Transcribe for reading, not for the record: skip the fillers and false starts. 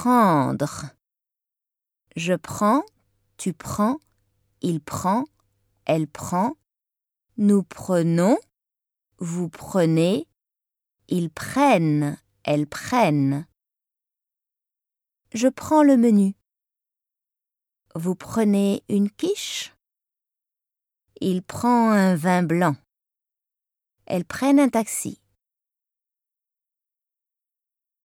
Prendre. Je prends, tu prends, il prend, elle prend, nous prenons, vous prenez, ils prennent, elles prennent. Je prends le menu. Vous prenez une quiche? Il prend un vin blanc. Elles prennent un taxi.